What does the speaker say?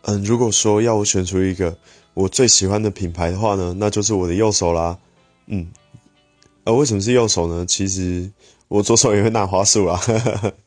如果说要我选出一个我最喜欢的品牌的话呢，那就是我的右手啦。为什么是右手呢？其实我左手也会拿滑鼠啦。